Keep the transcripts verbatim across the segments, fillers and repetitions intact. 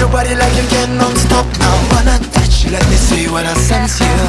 your body like you can non-stop now. Wanna touch you, let me see what I sense you.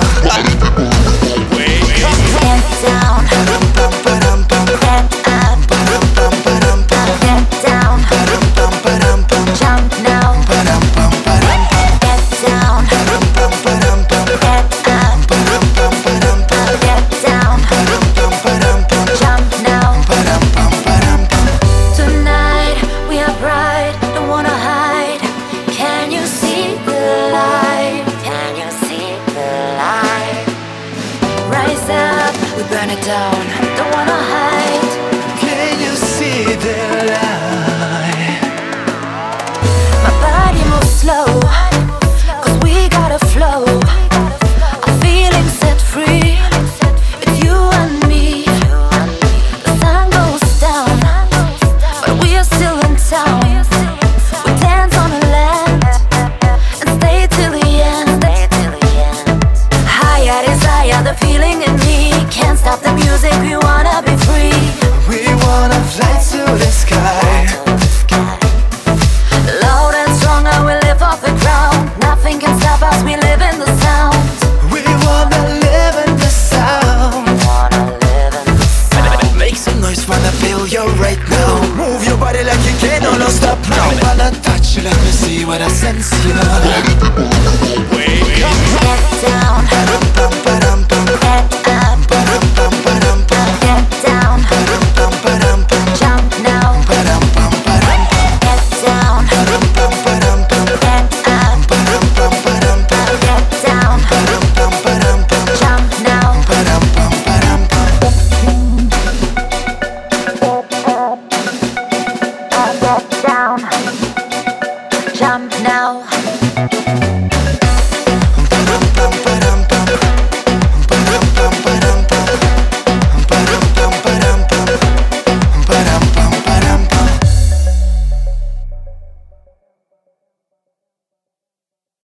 Get down, Ba-dum-bum, ba-dum-bum, get up, ba-dum-bum, ba-dum-bum, get down, ba-dum-bum, ba-dum-bum, jump now, ba-dum-bum, ba-dum-bum, get down, ba-dum-bum, ba-dum-bum, get up, ba-dum-bum, ba-dum-bum, get down, ba-dum-bum, ba-dum-bum, jump now. ba-dum-bum, ba-dum-bum. Tonight we are bright, don't wanna hide. Can you see the light? Can you see the light? Rise up, we burn it down, don't wanna hide. Can you see the light? My body moves slow, cause we gotta flow. I'm feeling set free, it's you and me. The sun goes down, but we are still in town. We dance on the land and stay till the end. Higher desire, the feeling in me. Can't stop the music, we wanna be free. We wanna fly to the sky. Loud and stronger, we live off the ground. Nothing can stop us, we live in the sound. We wanna live in the sound. Make some noise, wanna feel you right now. Move your body like you can, no, no stop now. Wanna touch you, let me see what I sense you. Get down, Ba-dum-bum, ba-dum-bum, get up, ba-dum-bum, ba-dum-bum, get down, ba-dum-bum, ba-dum-bum, jump now. ba-dum-bum, ba-dum-bum, Get down, ba-dum-bum, ba-dum-bum, get up, ba-dum-bum, ba-dum-bum, get down, ba-dum-bum, ba-dum-bum, jump now. ba-dum-bum, ba-dum-bum. Get down, jump now.